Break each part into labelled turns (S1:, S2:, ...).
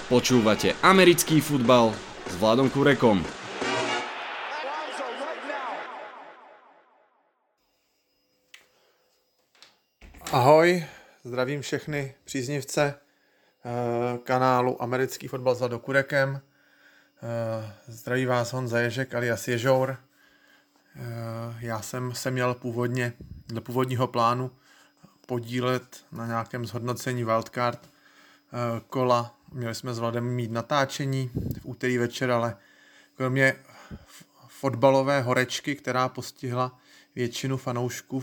S1: Počúvate americký futbal s Vladom Kurekom.
S2: Ahoj, zdravím všechny příznivce kanálu Americký fotbal s Vladou Kurekem. Zdraví vás Honza Ježek alias Ježour. Já jsem se měl původně dle původního plánu podílet na nějakém zhodnocení wildcard kola. Měli jsme s Vladem mít natáčení v úterý večer, ale kromě fotbalové horečky, která postihla většinu fanoušků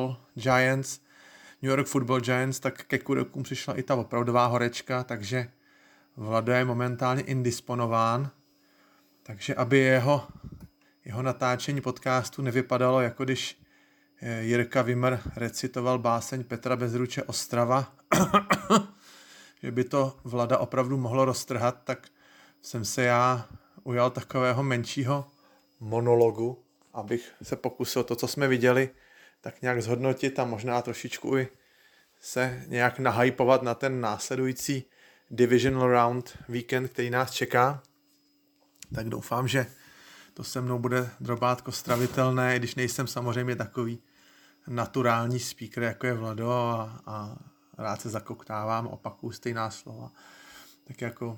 S2: New York Football Giants, tak ke Kurekům přišla i ta opravdová horečka, takže Vlado je momentálně indisponován. Takže aby jeho natáčení podcastu nevypadalo, jako když Jirka Wimmer recitoval báseň Petra Bezruče Ostrava, že by to Vlada opravdu mohlo roztrhat, tak jsem se já ujal takového menšího monologu, abych se pokusil to, co jsme viděli, tak nějak zhodnotit a možná trošičku i se nějak nahypovat na ten následující divisional round víkend, který nás čeká. Tak doufám, že to se mnou bude drobátko stravitelné, i když nejsem samozřejmě takový naturální speaker, jako je Vlado a rád se zakoktávám, opakuju stejná slova. Tak jako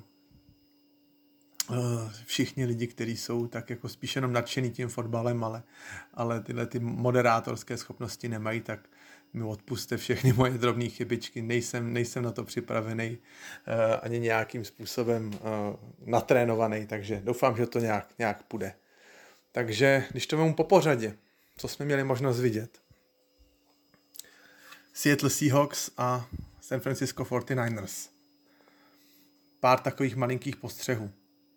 S2: všichni lidi, kteří jsou tak jako spíš jenom nadšený tím fotbalem, ale tyhle ty moderátorské schopnosti nemají, tak mi odpuste všechny moje drobné chybičky. Nejsem na to připravený ani nějakým způsobem natrénovaný, takže doufám, že to nějak půjde. Takže když to vemu po pořadě, co jsme měli možnost vidět. Seattle Seahawks a San Francisco 49ers. Pár takových malinkých postřehů.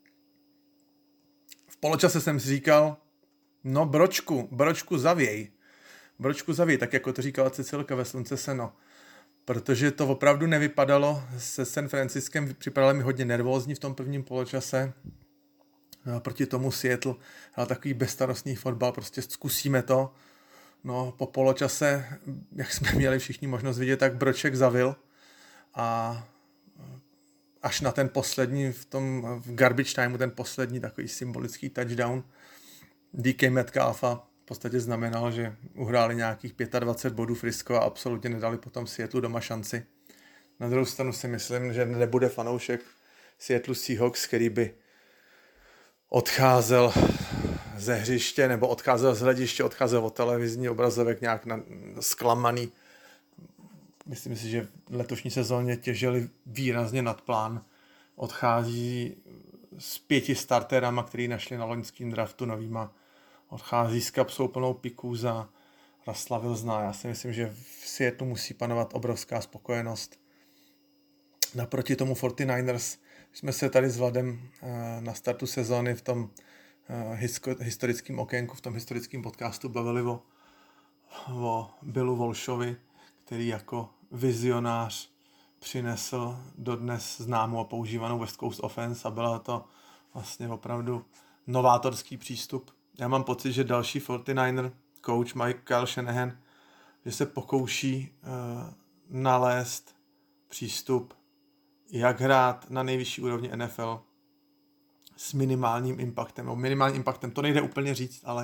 S2: V poločase jsem si říkal, no bročku zavěj, tak jako to říkala Cecilka ve Slunce seno. Protože to opravdu nevypadalo se San Franciskem, připadalo mi hodně nervózní v tom prvním poločase. Proti tomu Seattle hrál takový bezstarostný fotbal, prostě zkusíme to. No po poločase, jak jsme měli všichni možnost vidět, tak broček zavil a až na ten poslední v garbage timeu, ten poslední takový symbolický touchdown DK Metcalfa v podstatě znamenal, že uhráli nějakých 25 bodů Frisco a absolutně nedali potom Seattle doma šanci. Na druhou stranu si myslím, že nebude fanoušek Seattle Seahawks, který by odcházel ze hřiště nebo odcházel z hlediště, odcházel od televizní obrazovek nějak zklamaný. Myslím si, že v letošní sezóně těžili výrazně nad plán. Odchází s 5 starterama, který našli na loňském draftu novýma. Odchází s kapsou plnou piků za Russella Wilsona. Já si myslím, že v Seattle musí panovat obrovská spokojenost. Naproti tomu 49ers jsme se tady s Vladem na startu sezóny v tom historickém okénku, v tom historickém podcastu bavili o Billu Walshovi, který jako vizionář přinesl dodnes známou a používanou West Coast offense a byla to vlastně opravdu novátorský přístup. Já mám pocit, že další 49er coach Kyle Shanahan, že se pokouší nalézt přístup, jak hrát na nejvyšší úrovni NFL s minimálním impactem. Minimálním impactem to nejde úplně říct, ale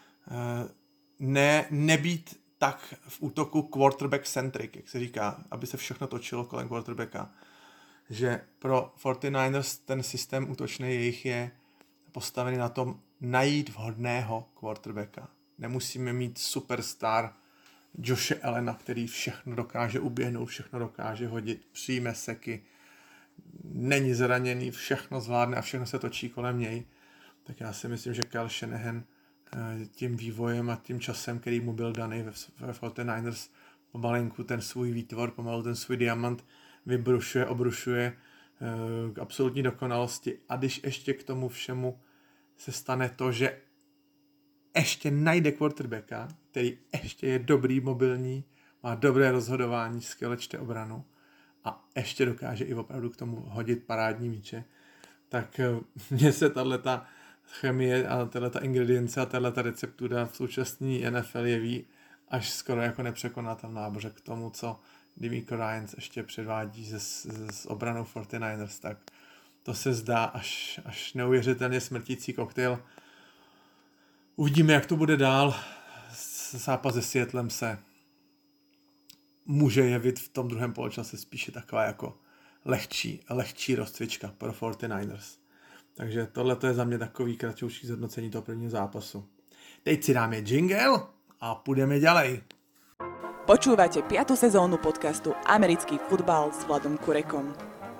S2: nebýt tak v útoku quarterback-centric, jak se říká, aby se všechno točilo kolem quarterbacka. Že pro 49ers ten systém útočný jejich je postavený na tom najít vhodného quarterbacka. Nemusíme mít superstar Joshe Allena, který všechno dokáže uběhnout, všechno dokáže hodit, přijme seky, není zraněný, všechno zvládne a všechno se točí kolem něj. Tak já si myslím, že Kyle Shanahan tím vývojem a tím časem, který mu byl daný ve 49ers, pomalinku ten svůj výtvor, pomalu ten svůj diamant obrušuje k absolutní dokonalosti. A když ještě k tomu všemu se stane to, že ještě najde quarterbacka, který ještě je dobrý, mobilní, má dobré rozhodování, skvěle čte obranu a ještě dokáže i opravdu k tomu hodit parádní míče, tak mně se tato chemie a tato ingredience a tato receptura v současné NFL jeví až skoro jako nepřekonatelná, protože k tomu, co DeMeco Ryans ještě předvádí s obranou 49ers, tak to se zdá až neuvěřitelně smrtící koktejl. Uvidíme, jak to bude dál. Zápas se Seattlem se může jevit v tom druhém poločase spíše taková jako lehčí rozcvička pro 49ers. Takže tohle je za mě takový kratoučký zhodnocení toho prvního zápasu. Teď si dáme jingle a půjdeme ďalej.
S3: Počúvate 5. sezónu podcastu Americký futbal s Vladom Kurekom.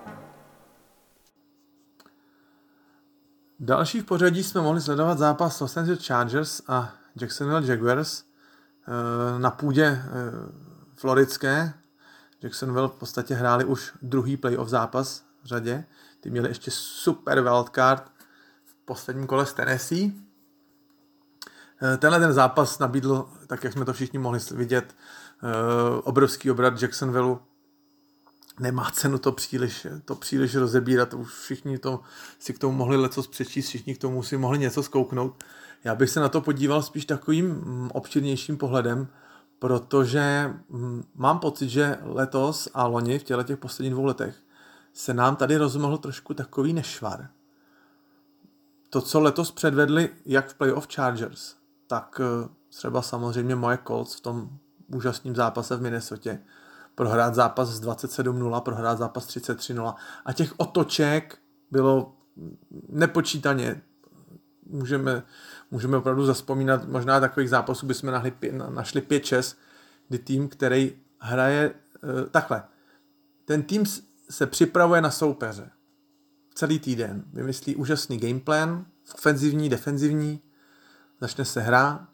S2: Další v pořadí jsme mohli sledovat zápas Los Angeles Chargers a Jacksonville Jaguars na půdě floridské. Jacksonville v podstatě hráli už druhý playoff zápas v řadě. Ty měli ještě super wildcard v posledním kole s Tennessee. Tenhle ten zápas nabídl, tak jak jsme to všichni mohli vidět, obrovský obrat Jacksonville. Nemá cenu to příliš rozebírat, už všichni si k tomu mohli lecos přečíst, všichni k tomu si mohli něco zkouknout. Já bych se na to podíval spíš takovým obširnějším pohledem, protože mám pocit, že letos a loni v těch posledních 2 letech se nám tady rozmohl trošku takový nešvar. To, co letos předvedli jak v playoff Chargers, tak třeba samozřejmě moje Colts v tom úžasném zápase v Minnesotě. Prohrát zápas z 27-0, prohrát zápas 33-0 a těch otoček bylo nepočítaně. Můžeme opravdu zavzpomínat, možná takových zápasů bychom našli 5-6, kdy tým, který hraje takhle. Ten tým se připravuje na soupeře. Celý týden vymyslí úžasný gameplan, ofenzivní, defenzivní, začne se hra,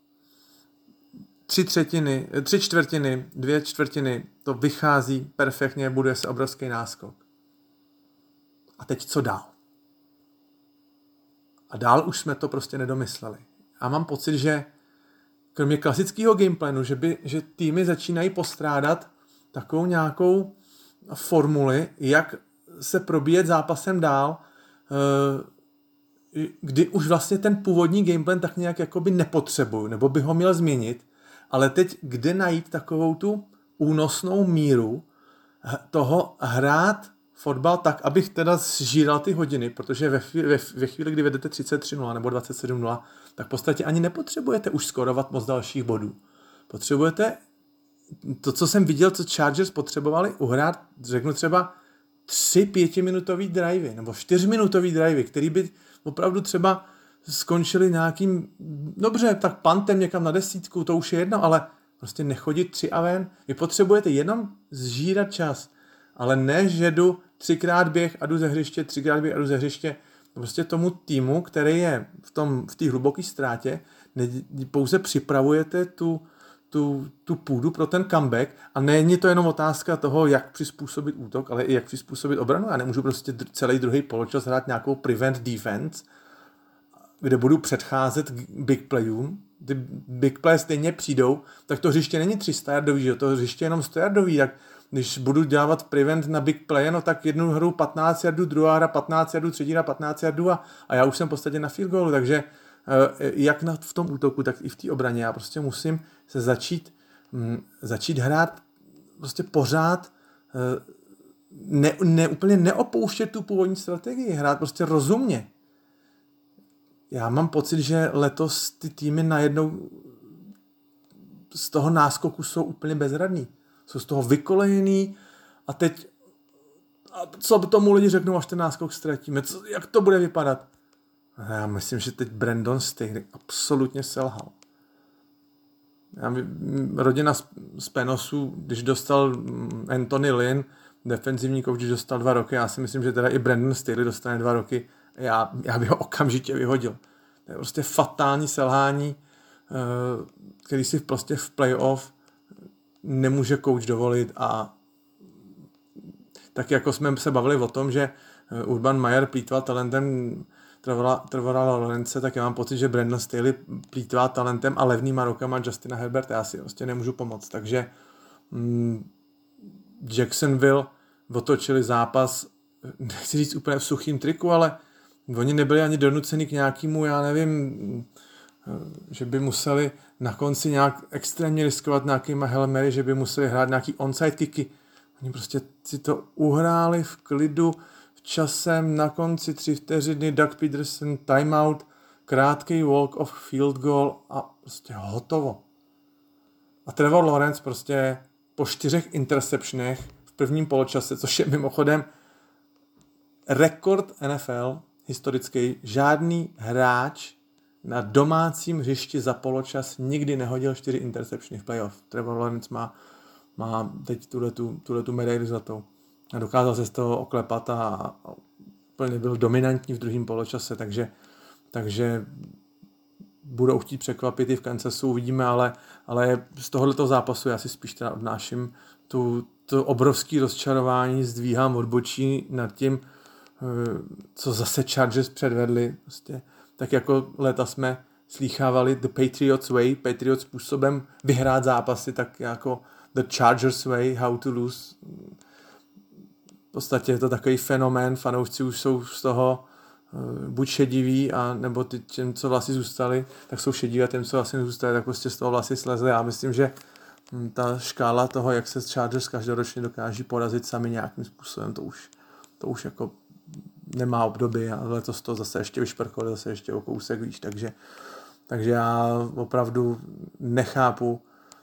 S2: 3/4, 2/4, to vychází perfektně, buduje se obrovský náskok. A teď co dál? A dál už jsme to prostě nedomysleli. A mám pocit, že kromě klasického gameplanu, že týmy začínají postrádat takovou nějakou formuli, jak se probíjet zápasem dál, kdy už vlastně ten původní gameplan tak nějak jakoby nepotřebuju, nebo by ho měl změnit, ale teď kde najít takovou tu únosnou míru toho hrát fotbal tak, abych teda zžíral ty hodiny, protože ve chvíli, kdy vedete 33-0 nebo 27-0, tak v podstatě ani nepotřebujete už skorovat moc dalších bodů. Potřebujete to, co jsem viděl, co Chargers potřebovali uhrát, řeknu třeba 3 5-minutový drivey nebo 4-minutový drivey, který by opravdu třeba skončili nějakým, dobře, tak pantem někam na 10, to už je jedno, ale prostě nechodit 3 a ven. Vy potřebujete jenom zžírat čas, ale ne, že jdu 3krát běh a jdu ze hřiště, 3krát běh a jdu ze hřiště. Prostě tomu týmu, který je v té hluboké ztrátě, pouze připravujete tu půdu pro ten comeback a není to jenom otázka toho, jak přizpůsobit útok, ale i jak přizpůsobit obranu. Já nemůžu prostě celý druhý poločas hrát nějakou prevent defense, kde budu předcházet big playům. Ty big play stejně přijdou, tak to hřiště není 300 yardový, že to hřiště je jenom 100 yardový, tak když budu dělat prevent na big play, no tak jednu hru 15 yardů, druhá hra 15 yardů, třetí hra 15 yardů a já už jsem v podstatě na field goalu, takže jak v tom útoku, tak i v té obraně já prostě musím se začít hrát prostě pořád úplně neopouštět tu původní strategii, hrát prostě rozumně. Já mám pocit, že letos ty týmy najednou z toho náskoku jsou úplně bezradní. Jsou z toho vykolejený a teď co tomu lidi řeknou, až ten náskok ztratíme? Jak to bude vypadat? Já myslím, že teď Brandon Staley absolutně selhal. Rodina z Penosu, když dostal Anthony Lynn, defenzivní coach, když dostal 2 roky, já si myslím, že teda i Brandon Staley dostane 2 roky, já bych ho okamžitě vyhodil. To je prostě fatální selhání, který si prostě v playoff nemůže coach dovolit a tak jako jsme se bavili o tom, že Urban Meyer plýtval talentem Trevora Lawrence, tak já mám pocit, že Brandon Staley plýtvá talentem a levnýma rukama Justina Herberta. Já si prostě nemůžu pomoct. Takže Jacksonville otočili zápas, nechci říct úplně v suchým triku, ale oni nebyli ani donuceni k nějakému, já nevím, že by museli na konci nějak extrémně riskovat nějakýma Hail Mary, že by museli hrát nějaký onside kicky. Oni prostě si to uhráli v klidu, v časem na konci 3 vteřiny Doug Peterson timeout, krátký walk of field goal a prostě hotovo. A Trevor Lawrence prostě po 4 interceptionech v prvním poločase, což je mimochodem rekord NFL historický, žádný hráč na domácím hřišti za poločas nikdy nehodil 4 interceptiony v playoff. Trevor Lawrence má teď tuhletu medaili zlatou. A dokázal se z toho oklepat a úplně byl dominantní v druhém poločase, takže budou chtít překvapit i v Kansasu, uvidíme, ale z tohoto zápasu já si spíš teda odnáším to obrovské rozčarování, zdvíhám odbočí nad tím, co zase Chargers předvedli. Prostě, tak jako léta jsme slýchávali the Patriots way, Patriots způsobem vyhrát zápasy, tak jako the Chargers way, how to lose. V podstatě je to takový fenomén, fanoušci už jsou z toho buď šediví, a nebo těm, co vlasy zůstali, tak jsou šediví, a těm, co vlasy nezůstali, tak prostě z toho vlasy slezly. Já myslím, že ta škála toho, jak se Chargers každoročně dokáží porazit sami nějakým způsobem, to už jako nemá období, a letos to zase ještě vyšprchlo, zase ještě o kousek víš, takže já opravdu nechápu,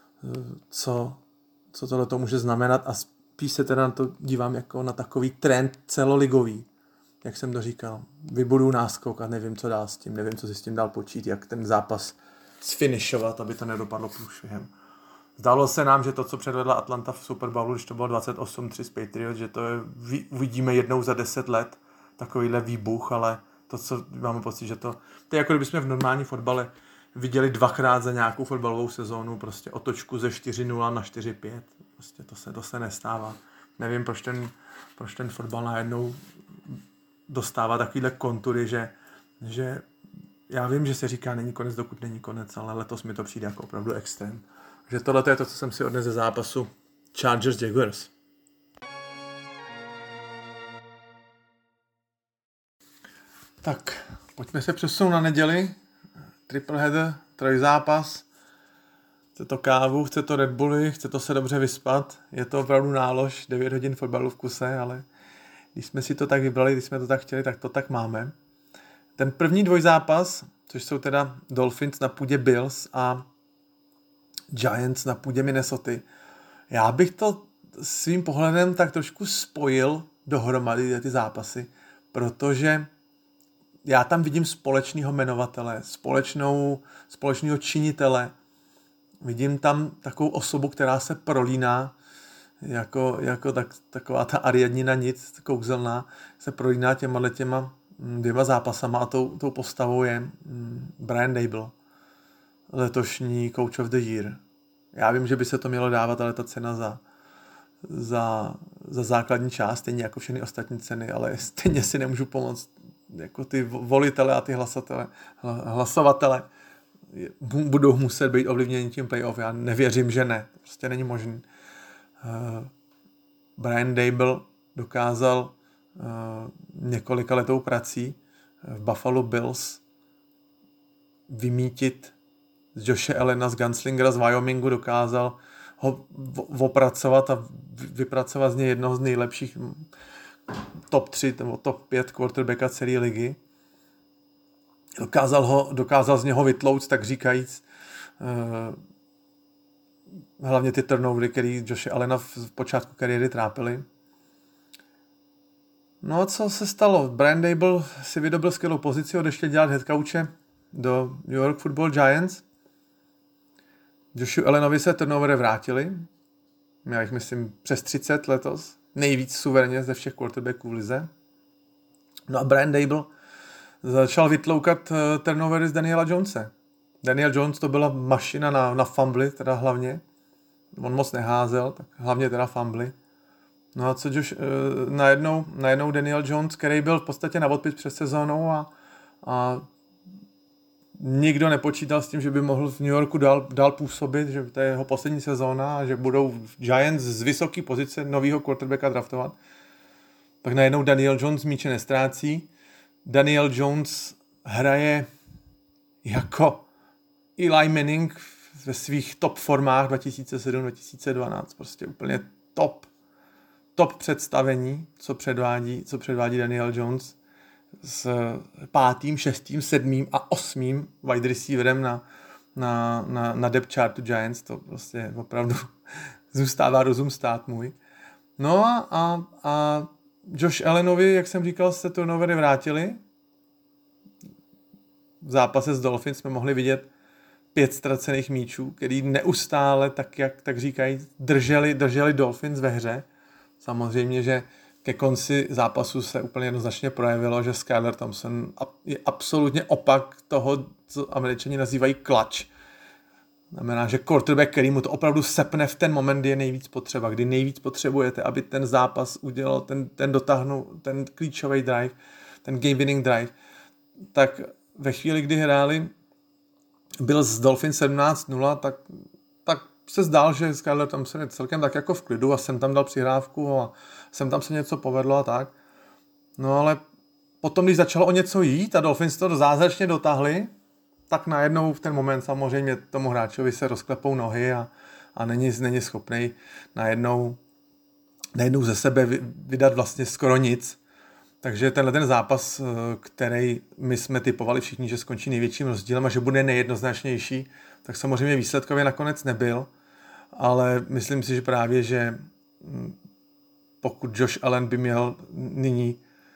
S2: co tohle může znamenat, a spíš se teda na to dívám jako na takový trend celoligový, jak jsem to říkal. Vybudu náskok a nevím, co dál s tím, nevím, co si s tím dál počít, jak ten zápas sfinišovat, aby to nedopadlo průšvihem. Zdálo se nám, že to, co předvedla Atlanta v Super Bowlu, když to bylo 28-3 z Patriots, že to uvidíme jednou za 10 let, takovýhle výbuch, ale to, co máme pocit, že to je jako kdybychom v normální fotbale viděli 2krát za nějakou fotbalovou sezónu prostě otočku ze 4-0 na 4-5. Prostě to se nestává. Nevím, proč ten fotbal najednou dostává takovýhle kontury, že já vím, že se říká není konec, dokud není konec, ale letos mi to přijde jako opravdu extrém. Že tohle je to, co jsem si odnesl ze zápasu Chargers Jaguars. Tak, pojďme se přesunout na neděli. Triple header, trojzápas. Chce to kávu, chce to Red Bulli, chce to se dobře vyspat. Je to opravdu nálož, 9 hodin fotbalu v kuse, ale když jsme si to tak vybrali, když jsme to tak chtěli, tak to tak máme. Ten první dvojzápas, což jsou teda Dolphins na půdě Bills a Giants na půdě Minnesota. Já bych to svým pohledem tak trošku spojil dohromady ty zápasy, protože já tam vidím společného jmenovatele, společného činitele. Vidím tam takovou osobu, která se prolíná, jako taková ta Ariadnina nic, kouzelná, se prolíná těma dvěma zápasama, a tou postavou je Brian Daboll, letošní Coach of the Year. Já vím, že by se to mělo dávat, ale ta cena za základní část, stejně jako všechny ostatní ceny, ale stejně si nemůžu pomoct. Jako ty volitele a ty hlasovatele budou muset být ovlivněni tím playoff. Já nevěřím, že ne. To prostě není možný. Brian Daboll dokázal několika letou prací v Buffalo Bills vymítit z Joshe Allena, z Gunslingera z Wyomingu, dokázal ho opracovat a vypracovat z něj jednoho z nejlepších top 3 nebo top 5 quarterbacka celé ligy. Dokázal z něho vytlouct, tak říkajíc, hlavně ty turnovery, který Joshe Allena v počátku kariéry trápily. No a co se stalo? Brian Daboll si vydobil skvělou pozici, odešel dělat headcoache do New York Football Giants. Joshu Allenovi se turnovery vrátili. Měl jich, myslím, přes 30 letos. Nejvíc suverénně ze všech quarterbacků v lize. No a Brian Daboll začal vytloukat turnovery z Daniela Jonese. Daniel Jones to byla mašina na fumbly, teda hlavně. On moc neházel, tak hlavně teda fumbly. No a co najednou Daniel Jones, který byl v podstatě na odpis před sezónou a nikdo nepočítal s tím, že by mohl v New Yorku dál působit, že to je jeho poslední sezóna a že budou Giants z vysoké pozice novýho quarterbacka draftovat. Tak najednou Daniel Jones míče nestrácí. Daniel Jones hraje jako Eli Manning ve svých top formách 2007-2012. Prostě úplně top. top představení, co předvádí Daniel Jones s 5., 6., 7. a 8. wide receiverem na depth chartu Giants. To prostě opravdu zůstává rozum stát můj. No a Josh Allenovi, jak jsem říkal, se turnovery vrátili. V zápase s Dolphins jsme mohli vidět 5 ztracených míčů, který neustále, tak říkají, drželi Dolphins ve hře. Samozřejmě, že ke konci zápasu se úplně jednoznačně projevilo, že Skylar Thompson je absolutně opak toho, co Američani nazývají clutch. Znamená, že quarterback, který mu to opravdu sepne v ten moment, kdy je nejvíc potřeba, kdy nejvíc potřebujete, aby ten zápas udělal, ten dotáhnul, ten klíčový drive, ten game winning drive, tak ve chvíli, kdy hráli, byl z Dolphins 17-0, tak se zdál, že Skylar Thompson je celkem tak jako v klidu a jsem tam dal přihrávku a jsem tam se něco povedlo a tak. No ale potom, když začalo o něco jít a Dolphins to zázračně dotáhli, tak najednou v ten moment samozřejmě tomu hráčovi se rozklepou nohy a není schopný najednou ze sebe vydat vlastně skoro nic. Takže ten zápas, který my jsme typovali všichni, že skončí největším rozdílem a že bude nejjednoznačnější, tak samozřejmě výsledkově nakonec nebyl, ale myslím si, že právě, že pokud Josh Allen by měl nyní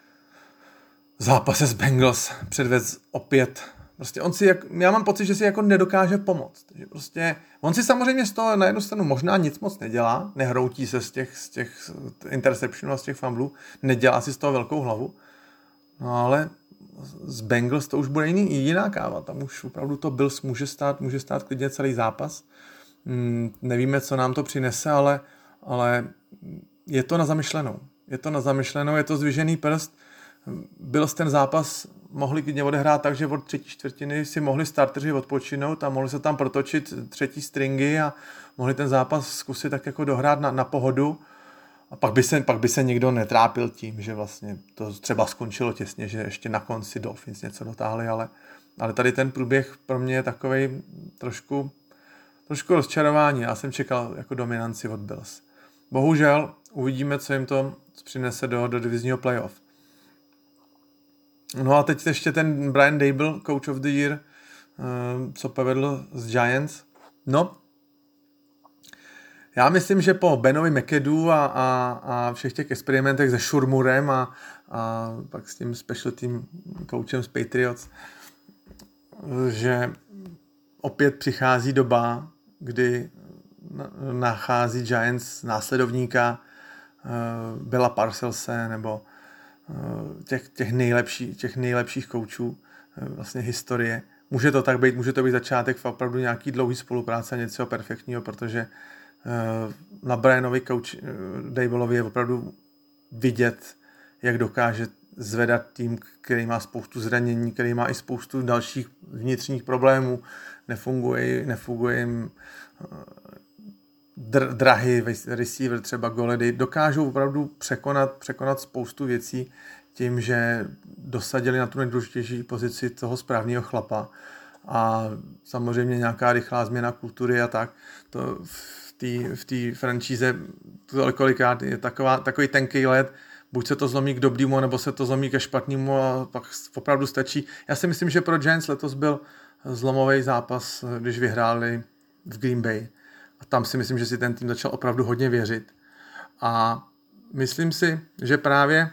S2: v zápase s Bengals předvést opět, prostě já mám pocit, že si jako nedokáže pomoct. Že prostě on si samozřejmě z toho na jednu stranu možná nic moc nedělá, nehroutí se z těch interceptionů a z těch fumblů, nedělá si z toho velkou hlavu, no ale z Bengals to už bude jiná káva, tam už opravdu to Bills může stát klidně celý zápas. Nevíme, co nám to přinese, ale je to na zamyšlenou. Je to zdvižený prst. Bills ten zápas mohli klidně odehrát tak, že od 3. čtvrtiny si mohli starteři odpočinout a mohli se tam protočit 3. stringy a mohli ten zápas zkusit tak jako dohrát na pohodu. A pak by se nikdo netrápil tím, že vlastně to třeba skončilo těsně, že ještě na konci Dolphins něco dotáhli, ale tady ten průběh pro mě je takovej trošku rozčarování. Já jsem čekal jako dominanci od Bills. Bohužel uvidíme, co jim to přinese do divizního playoff. No a teď ještě ten Brian Daboll, Coach of the Year, co povedl z Giants. No, já myslím, že po Benovi McAdoo a všech těch experimentech se Shurmurem a pak s tím special team coachem z Patriots, že opět přichází doba, kdy nachází Giants následovníka Billa Parcellse nebo těch nejlepších koučů vlastně historie. Může to tak být, může to být začátek opravdu nějaký dlouhý spolupráce a něco perfektního, protože na Brianovi Dabollovi je opravdu vidět, jak dokáže zvedat tým, který má spoustu zranění, který má i spoustu dalších vnitřních problémů, nefunguje jim drahý receiver, třeba Golladay, dokážou opravdu překonat spoustu věcí tím, že dosadili na tu nejdůležitější pozici toho správného chlapa a samozřejmě nějaká rychlá změna kultury a tak. To v té franšíze kolikrát je takový tenký led, buď se to zlomí k dobrýmu, nebo se to zlomí ke špatnému a pak opravdu stačí. Já si myslím, že pro Giants letos byl zlomový zápas, když vyhráli v Green Bay. A tam si myslím, že si ten tým začal opravdu hodně věřit. A myslím si, že právě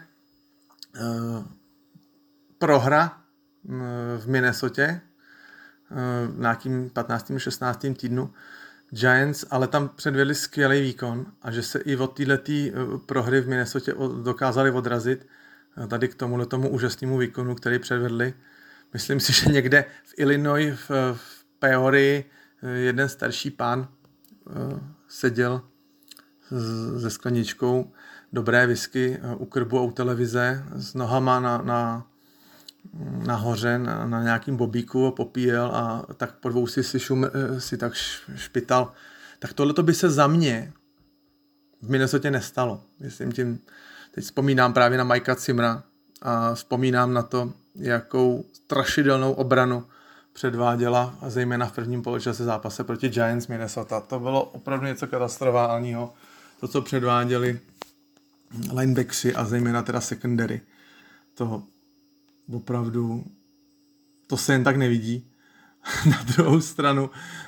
S2: prohra v Minnesotě v nějakým 15. 16. týdnu Giants, ale tam předvedli skvělý výkon a že se i od této prohry v Minnesotě dokázali odrazit tady k tomu úžasnému výkonu, který předvedli. Myslím si, že někde v Illinois, v Peorii, jeden starší pán seděl se skleničkou dobré whisky u krbu a u televize s nohama nahoře na nějakým bobíku a popíjel a tak po dvou si tak špital. Tak tohleto by se za mě v Minnesotě nestalo. Teď vzpomínám právě na Mikea Zimmera a vzpomínám na to, jakou strašidelnou obranu předváděla, a zejména v prvním poločase zápase proti Giants Minnesota. To bylo opravdu něco katastrofálního. To, co předváděli linebackři a zejména teda secondary. To opravdu, to se jen tak nevidí. Na druhou stranu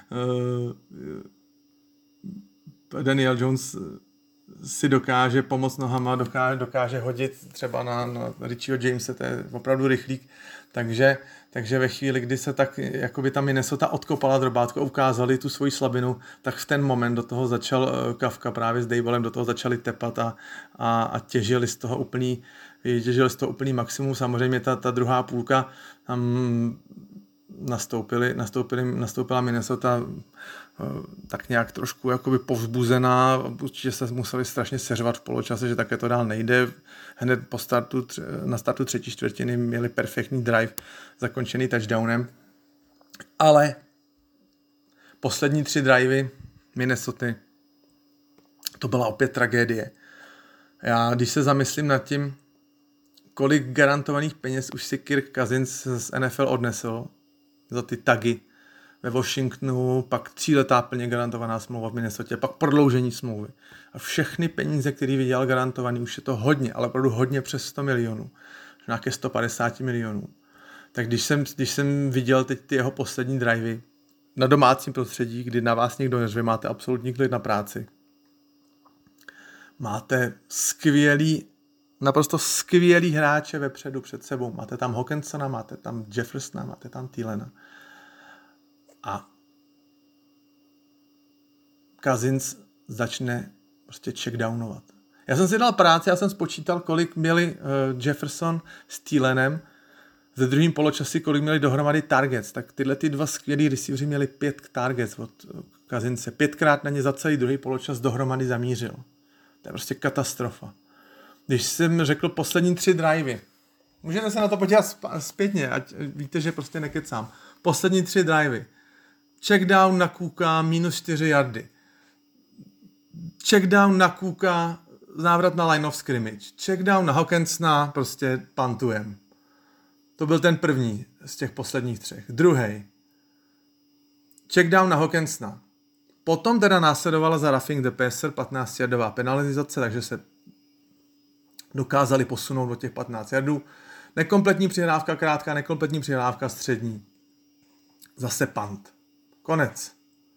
S2: Daniel Jones si dokáže pomoct nohama, dokáže hodit třeba na Richieho Jamese, to je opravdu rychlík, takže ve chvíli, kdy se tak jakoby ta Minnesota odkopala drobátko a ukázali tu svoji slabinu, tak v ten moment do toho začal Kafka právě s Dablem, do toho začali tepat a těžili z toho úplný maximum. Samozřejmě ta druhá půlka tam nastoupila Minnesota tak nějak trošku jakoby povzbuzená, určitě se museli strašně seřvat v poločase, že také to dál nejde. Hned na startu třetí čtvrtiny měli perfektní drive zakončený touchdownem, ale poslední 3 drivey Minnesoty, to byla opět tragédie. Já když se zamyslím nad tím, kolik garantovaných peněz už si Kirk Cousins z NFL odnesl za ty tagy ve Washingtonu, pak 3letá plně garantovaná smlouva v Minnesotě, pak prodloužení smlouvy. A všechny peníze, které vydělal garantovaný, už je to hodně, ale opravdu hodně přes 100 milionů. Nějaké 150 milionů. Tak když jsem viděl teď ty jeho poslední drivey na domácím prostředí, kdy na vás někdo neřve, máte absolutní klid na práci. Máte naprosto skvělý hráče vepředu před sebou. Máte tam Hawkinsona, máte tam Jeffersona, máte tam Thielena. A Cousins začne prostě checkdownovat. Já jsem si dal práci, já jsem spočítal, kolik měli Jefferson s Thielenem ve druhém poločasi, kolik měli dohromady targets. Tak tyhle ty 2 skvělí receiveři měli 5 targets od Cousinse. 5krát na ně za celý druhý poločas dohromady zamířil. To je prostě katastrofa. Když jsem řekl poslední 3 drivey, můžete se na to podívat zpětně, ať víte, že prostě nekecám. Poslední 3 drivey. Checkdown na Cooka, -4 yardy. Checkdown na Cooka, návrat na line of scrimmage. Checkdown na Hawkinsona, prostě pantujem. To byl ten první z těch posledních 3. Druhý. Checkdown na Hawkinsona. Potom teda následovala za roughing the passer 15-yardová penalizace, takže se dokázali posunout do těch 15 yardů. Nekompletní přihrávka krátká, nekompletní přihrávka střední. Zase punt. Konec.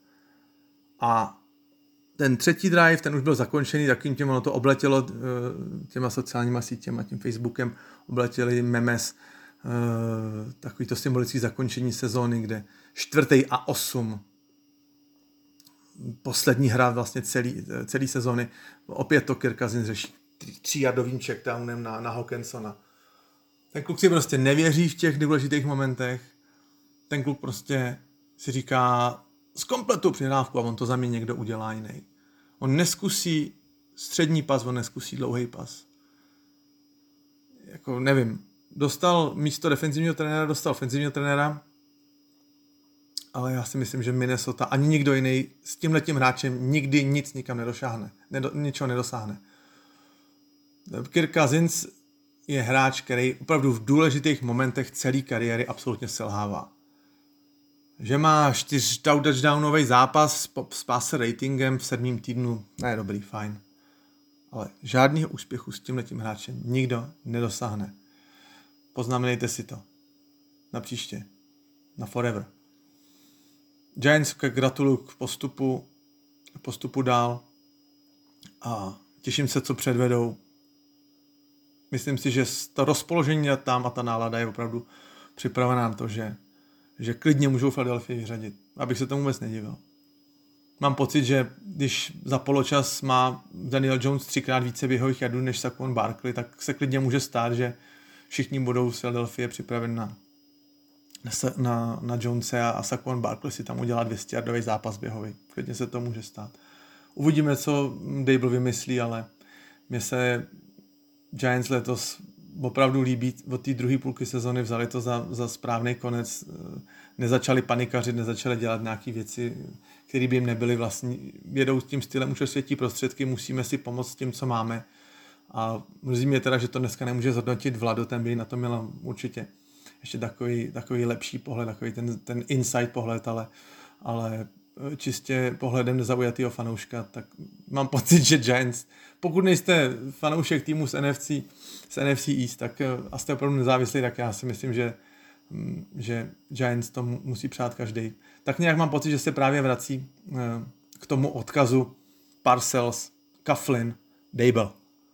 S2: A ten třetí drive, ten už byl zakončený, takým tím ono to obletělo těma sociálníma sítěma, tím Facebookem, obletěli memes, takový to symbolický zakončení sezóny, kde 4. a 8. Poslední hra vlastně celý sezóny. Opět to Kirk Cousins řeší 3yardovým checkdownem na Hawkinsona. Ten kluk si prostě nevěří v těch důležitých momentech. Ten kluk prostě si říká zkompletuj přihrávku a on to za mě někdo udělá jiný. On neskusí střední pas, on neskusí dlouhý pas. Jako nevím, dostal místo defenzivního trenéra, dostal ofenzivního trenéra, ale já si myslím, že Minnesota ani nikdo jiný s tímhletím hráčem nikdy nic nikam nedošáhne. Ničeho nedosáhne. Kirk Cousins je hráč, který opravdu v důležitých momentech celé kariéry absolutně selhává. Že má 4 touchdownový zápas s passer ratingem v 7. týdnu, ne dobrý, fajn. Ale žádného úspěchu s tímhletím hráčem nikdo nedosáhne. Poznamenejte si to. Na příště. Na forever. Giants gratuluju k postupu dál a těším se, co předvedou. Myslím si, že to rozpoložení tam a ta nálada je opravdu připravená na to, že klidně můžou Philadelphia vyřadit. Abych se tomu vůbec nedivil. Mám pocit, že když za poločas má Daniel Jones 3krát více běhových jardů než Saquon Barkley, tak se klidně může stát, že všichni budou z Philadelphia připraveni na Jonese a Saquon Barkley si tam udělá 200yardový zápas běhový. Klidně se to může stát. Uvidíme, co Dable vymyslí, ale mně se Giants letos opravdu líbí. Od té druhé půlky sezony vzali to za správný konec. Nezačali panikařit, nezačali dělat nějaké věci, které by jim nebyly vlastní. Jedou s tím stylem už světí prostředky, musíme si pomoct s tím, co máme. A mrzí mě teda, že to dneska nemůže zhodnotit Vlado, ten by na to měl určitě ještě takový lepší pohled, takový ten inside pohled, ale čistě pohledem nezaujatého fanouška, tak mám pocit, že Giants, pokud nejste fanoušek týmu z NFC East, tak a jste opravdu nezávislí, tak já si myslím, že Giants to musí přát každý. Tak nějak mám pocit, že se právě vrací k tomu odkazu Parcells, Coughlin, Dable.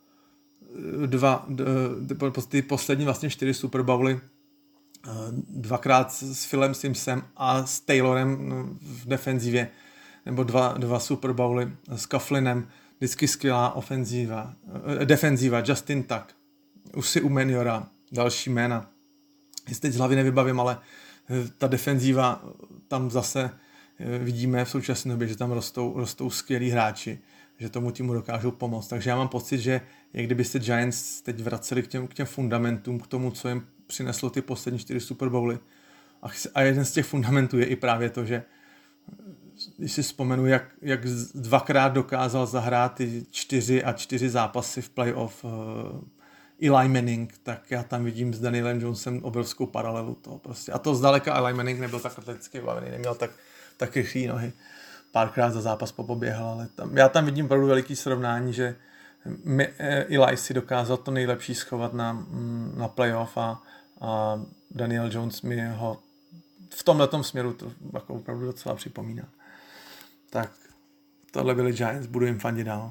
S2: Ty poslední vlastně 4 Super Bowly, dvakrát s Philem Simsem a s Taylorem v defenzivě, nebo dva Super Bowly s Coughlinem, vždycky skvělá defenziva, Justin Tuck, Usi Umenjora, další jména. Jestli teď z hlavy nevybavím, ale ta defenziva, tam zase vidíme v současné době, že tam rostou skvělí hráči, že tomu týmu dokážou pomoct. Takže já mám pocit, že jak kdyby se Giants teď vraceli k těm fundamentům, k tomu, co jim přineslo ty poslední 4 Super Bowly. A jeden z těch fundamentů je i právě to, že když si vzpomenu, jak dvakrát dokázal zahrát ty 4 zápasy v playoff Eli Manning, tak já tam vidím s Danielem Jonesem obrovskou paralelu toho prostě. A to zdaleka Eli Manning nebyl tak atleticky vybavený, neměl tak rychlý nohy. Párkrát za zápas popoběhal, ale já tam vidím opravdu veliký srovnání, že Eli si dokázal to nejlepší schovat na playoff a Daniel Jones mi ho v tomhletom směru to jako opravdu docela připomíná. Tak tohle byli Giants, budu jim fandit dál.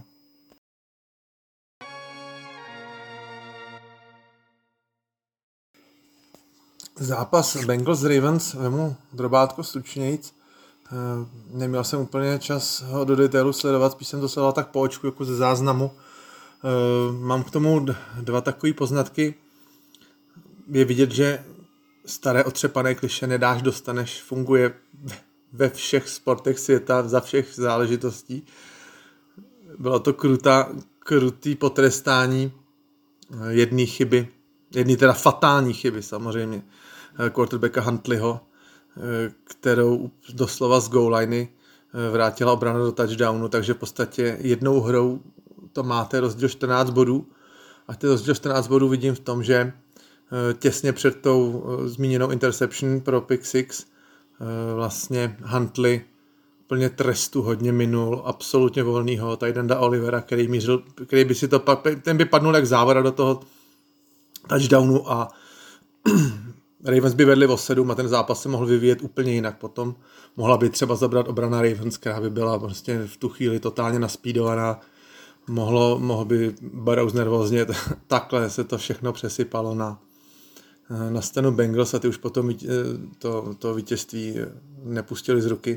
S2: Zápas Bengals-Ravens vemu drobátko stručnějc. Neměl jsem úplně čas ho do detailu sledovat, spíš jsem to sledoval tak po očku, jako ze záznamu. Mám k tomu 2 takové poznatky. Je vidět, že staré otřepané klišé nedáš, dostaneš, funguje ve všech sportech světa, za všech záležitostí. Bylo to krutý potrestání jedné chyby, jedné teda fatální chyby samozřejmě, quarterbacka Huntleyho, kterou doslova z goal liney vrátila obrana do touchdownu, takže v podstatě jednou hrou to máte rozdíl 14 bodů a ten rozdíl 14 bodů vidím v tom, že těsně před tou zmíněnou interception pro pick six vlastně Huntley plně trestu hodně minul, absolutně volnýho Tydenda Olivera, který by si to ten by padnul jak závora do toho touchdownu a Ravens by vedli o 7 a ten zápas se mohl vyvíjet úplně jinak. Potom mohla by třeba zabrat obrana Ravens, která by byla prostě v tu chvíli totálně naspídovaná. Mohl by Burrows nervózně, takhle se to všechno přesypalo na scénu Bengals a ty už potom to vítězství nepustili z ruky.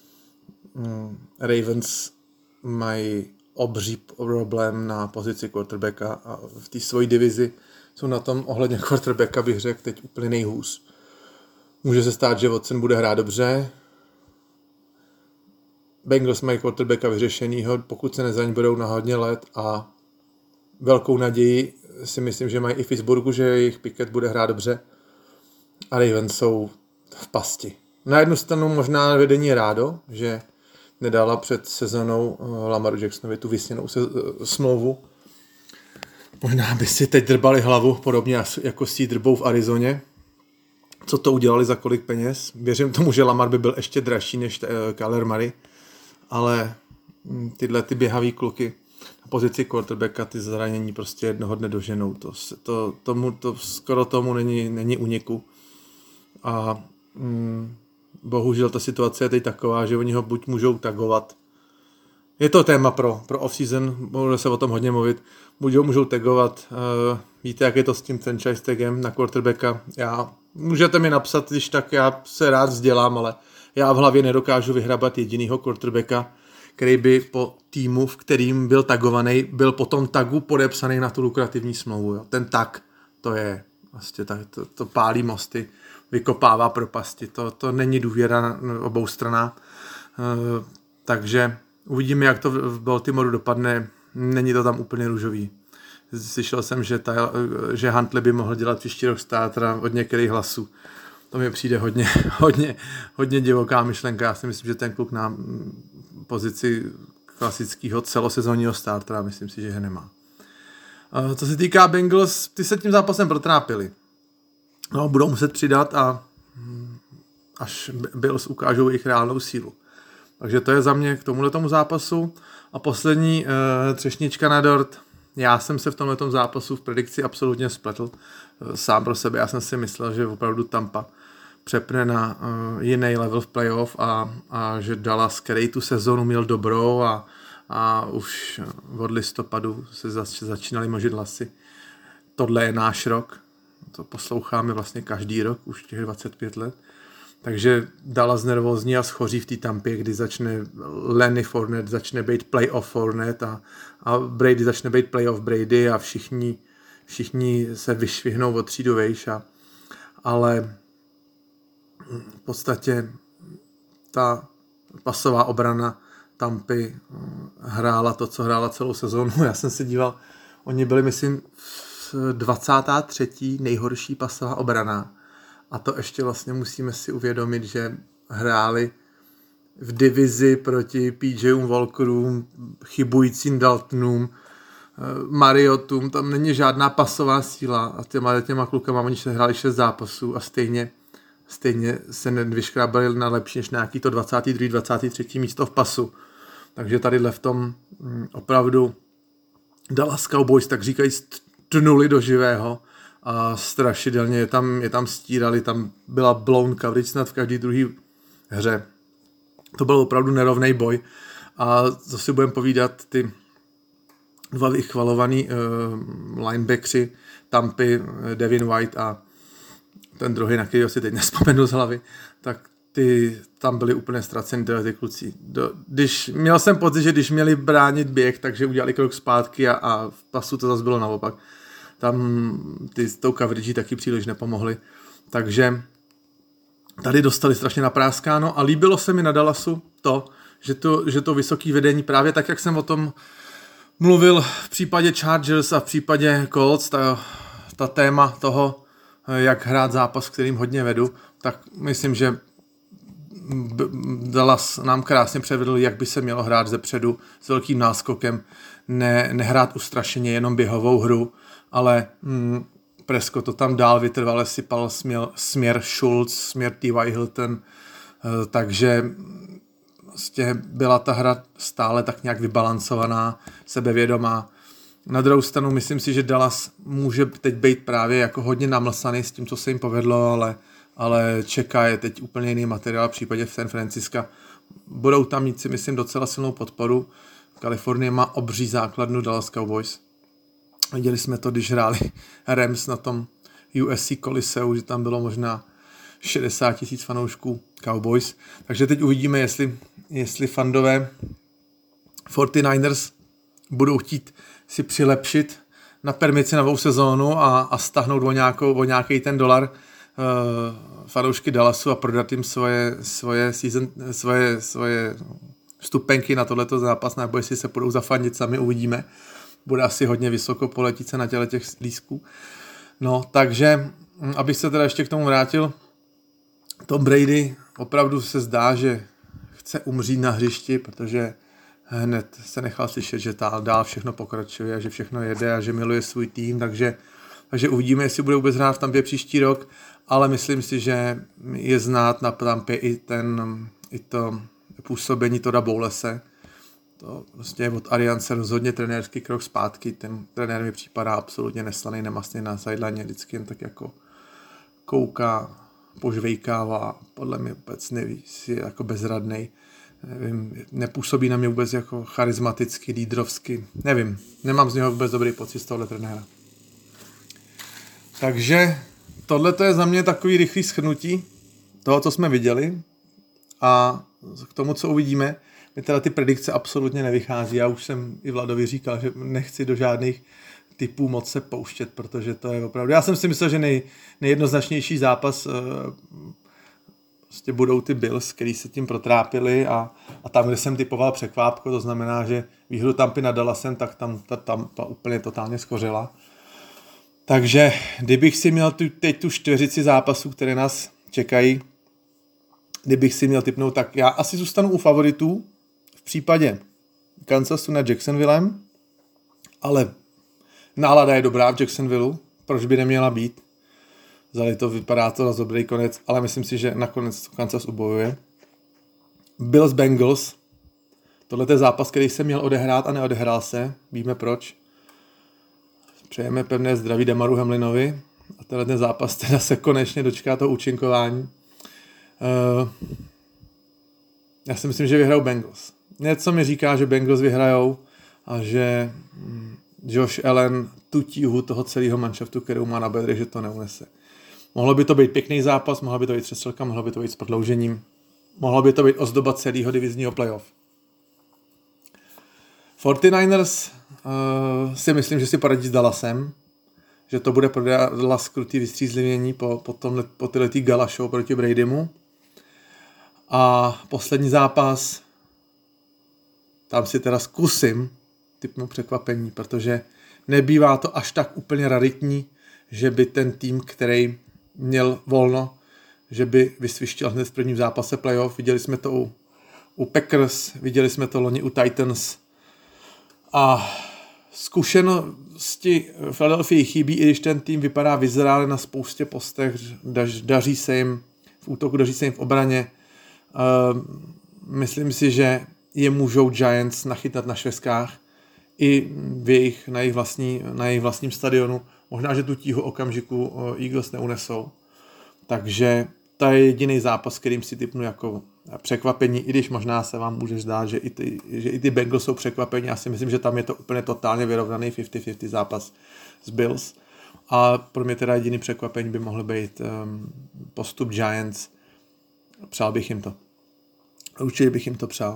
S2: Ravens mají obří problém na pozici quarterbacka a v té svojí divizi jsou na tom ohledně quarterbacka, bych řekl, teď úplně nejhůř. Může se stát, že Watson bude hrát dobře. Bengals mají quarterbacka vyřešenýho, pokud se nezraní, budou na hodně let a velkou naději si myslím, že mají i v Pittsburghu, že jejich Pickett bude hrát dobře a Ravens jsou v pasti. Na jednu stranu možná vedení rádo, že nedala před sezonou Lamaru Jacksonovi tu vysněnou smlouvu. Možná by si teď drbali hlavu, podobně jako si drbou v Arizoně. Co to udělali, za kolik peněz? Věřím tomu, že Lamar by byl ještě dražší než Kyler Murray, ale tyhle ty běhavý kluky na pozici quarterbacka ty zranění prostě jednoho dne doženou. To skoro tomu není úniku. A bohužel ta situace je teď taková, že oni ho buď můžou tagovat. Je to téma pro off-season, bude se o tom hodně mluvit. Buď ho můžou tagovat, víte, jak je to s tím franchise tagem na quarterbacka. Můžete mi napsat, když tak já se rád vzdělám, ale já v hlavě nedokážu vyhrabat jedinýho quarterbacka, který by po týmu, v kterým byl tagovaný, byl po tom tagu podepsaný na tu lukrativní smlouvu. Jo. Ten tag, to je vlastně to pálí mosty, vykopává propasti. To není důvěra na obou stranách. Takže uvidíme, jak to v Baltimoru dopadne. Není to tam úplně růžový. Slyšel jsem, že Huntley by mohl dělat příští rok startera od některých hlasů. To mi přijde hodně divoká myšlenka. Já si myslím, že ten kluk na pozici klasického celosezónního startera, myslím si, že ho nemá. Co se týká Bengals, ty se tím zápasem protrápili. No, budou muset přidat a až Bills ukážou jejich reálnou sílu. Takže to je za mě k tomuhletomu zápasu. A poslední třešnička na dort. Já jsem se v tomhletom zápasu v predikci absolutně spletl sám pro sebe. Já jsem si myslel, že opravdu Tampa přepne na jiný level v playoff a že Dallas, který tu sezonu měl dobrou a už od listopadu se začínaly možit hlasy. Tohle je náš rok. To posloucháme vlastně každý rok, už těch 25 let. Takže Dallas nervózní a schoří v té Tampě, kdy začne Lenny Fournette, začne být playoff Fournette a Brady začne být playoff Brady a všichni se vyšvihnou od třídu vejš. Ale v podstatě ta pasová obrana Tampy hrála to, co hrála celou sezónu. Já jsem se díval, oni byli, myslím, 23. nejhorší pasová obrana. A to ještě vlastně musíme si uvědomit, že hráli v divizi proti PJům Walkerům, chybujícím Daltonům, Mariotům, tam není žádná pasová síla a těma klukama oni se hráli 6 zápasů a stejně se nevyškrábali na lepší než nějaký to 22. 23. místo v pasu. Takže tadyhle v tom opravdu Dallas Cowboys, tak říkají, tnuli do živého a strašidelně je tam stírali, tam byla blown coverage snad v každé druhé hře. To byl opravdu nerovný boj a co si budeme povídat, ty dva vychvalovaný linebackři Tampy, Devin White a ten druhý, na kterého si teď nespomenu z hlavy, tak ty tam byli úplně ztraceni ty kluci. Měl jsem pocit, že když měli bránit běh, takže udělali krok zpátky a v pasu to zase bylo naopak. Tam s tou coverage taky příliš nepomohli. Takže tady dostali strašně napráskáno a líbilo se mi na Dallasu to, že to vysoký vedení, právě tak, jak jsem o tom mluvil v případě Chargers a v případě Colts, ta téma toho, jak hrát zápas, kterým hodně vedu, tak myslím, že Dallas nám krásně převedl, jak by se mělo hrát zepředu s velkým náskokem, nehrát ustrašeně jenom běhovou hru, ale Prescott to tam dál vytrvale sypal směr Schultz, směr T.Y. Hilton, takže vlastně byla ta hra stále tak nějak vybalancovaná, sebevědomá. Na druhou stranu myslím si, že Dallas může teď být právě jako hodně namlsaný s tím, co se jim povedlo, ale čeká je teď úplně jiný materiál v případě San Francisca. Budou tam mít si myslím docela silnou podporu. Kalifornie má obří základnu Dallas Cowboys. Viděli jsme to, když hráli Rams na tom USC Coliseu, že tam bylo možná 60 000 fanoušků Cowboys. Takže teď uvidíme, jestli fandové 49ers budou chtít si přilepšit na permici novou sezónu a stáhnout o nějaký ten dolar fanoušky Dallasu a prodat jim svoje vstupenky na tohleto zápas, nebo jestli se budou zafandit, sami uvidíme. Bude asi hodně vysoko poletit se na těch lístků. No, takže, abych se teda ještě k tomu vrátil, Tom Brady opravdu se zdá, že chce umřít na hřišti, protože hned se nechal slyšet, že dál všechno pokračuje, že všechno jede a že miluje svůj tým, takže uvidíme, jestli bude vůbec hrát v Tampě příští rok, ale myslím si, že je znát na Tampě i to působení Todda Bowlese. To prostě od Arianse rozhodně trenérský krok zpátky, ten trenér mi připadá absolutně neslaný, nemastný na sideline, vždycky jen tak jako kouká, požvejkává, podle mě vůbec neví, je jako bezradnej. Nevím, nepůsobí na mě vůbec jako charismaticky, lídrovsky, nevím, nemám z něho vůbec dobrý pocit z tohle trenéra. Takže tohle to je za mě takový rychlý shrnutí toho, co jsme viděli a k tomu, co uvidíme. Mi teda ty predikce absolutně nevychází. Já už jsem i Vladovi říkal, že nechci do žádných typů moc se pouštět, protože to je opravdu... Já jsem si myslel, že nejjednoznačnější zápas prostě budou ty Bills, který se tím protrápili a tam, kde jsem typoval překvápko, to znamená, že výhru Tampy nad Dallasem, tak tam ta Tampa úplně totálně skořila. Takže kdybych si měl teď tu čtveřici zápasů, které nás čekají, kdybych si měl tipnout, tak já asi zůstanu u favoritů v případě Kansasu nad Jacksonvillem, ale nálada je dobrá v Jacksonvilleu, proč by neměla být. Zdali to vypadá to na dobrý konec, ale myslím si, že nakonec Kansas ubojuje. Bills Bengals. Tohle je zápas, který se měl odehrát a neodehrál se. Víme proč. Přejeme pevné zdraví Damaru Hamlinovi. A tenhle zápas teda se konečně dočká toho účinkování. Já si myslím, že vyhrajou Bengals. Něco mi říká, že Bengals vyhrajou a že Josh Allen tu tíhu toho celého manšaftu, kterou má na bedrech, že to neunese. Mohlo by to být pěkný zápas, mohla by to být přestřelka, mohlo by to být s prodloužením. Mohlo by to být ozdoba celého divizního playoff. 49ers si myslím, že si poradí s Dallasem, že to bude pro Dallas krutý vystřízlivění po tyhletý gala show proti Bradymu. A poslední zápas, tam si teda zkusím typnout překvapení, protože nebývá to až tak úplně raritní, že by ten tým, který měl volno, že by vysvištěl hned v prvním zápase playoff. Viděli jsme to u Packers, viděli jsme to loni u Titans. A zkušenosti Philadelphia chybí, i když ten tým vypadá vyzrále na spoustě postech, daří se jim v útoku, daří se jim v obraně. Myslím si, že je můžou Giants nachytat na šveskách i na jejich vlastním stadionu. Možná, že tu tíhu okamžiku Eagles neunesou. Takže to je jediný zápas, kterým si tipnu jako překvapení, i když možná se vám může zdát, že i ty Bengals jsou překvapení. Já si myslím, že tam je to úplně totálně vyrovnaný 50-50 zápas s Bills. A pro mě teda jediný překvapení by mohl být postup Giants. Přál bych jim to. Určitě bych jim to přál.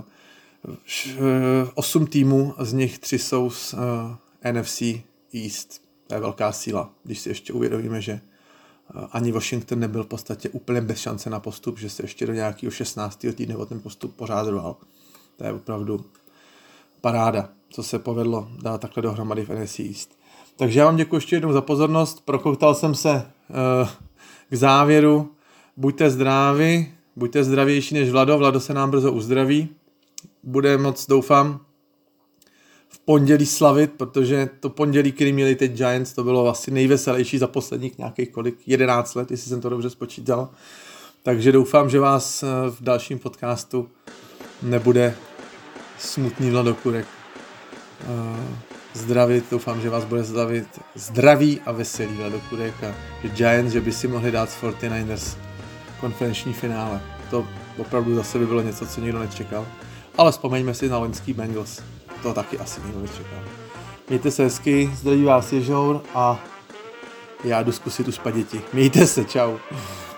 S2: 8 týmů, z nich 3 jsou z NFC East. To je velká síla, když si ještě uvědomíme, že ani Washington nebyl v podstatě úplně bez šance na postup, že se ještě do nějakého 16. týdne o ten postup pořád rval. To je opravdu paráda, co se povedlo dát takhle dohromady v NFC East. Takže já vám děkuji ještě jednou za pozornost, prokoutal jsem se k závěru. Buďte zdraví, buďte zdravější než Vlado se nám brzo uzdraví. Bude moc, doufám, v pondělí slavit, protože to pondělí, který měli teď Giants, to bylo asi nejveselější za posledních nějakých 11 let, jestli jsem to dobře spočítal. Takže doufám, že vás v dalším podcastu nebude smutný Vlado Kurek zdravit. Doufám, že vás bude zdravit zdraví a veselý Vlado Kurek a že Giants, že by si mohli dát z 49ers konferenční finále. To opravdu zase by bylo něco, co nikdo nečekal. Ale vzpomeňme si na loňský Bengals. To taky asi nikdo nečekal. Mějte se hezky, zdraví vás Ježour a já jdu zkusit uspat děti. Mějte se, čau.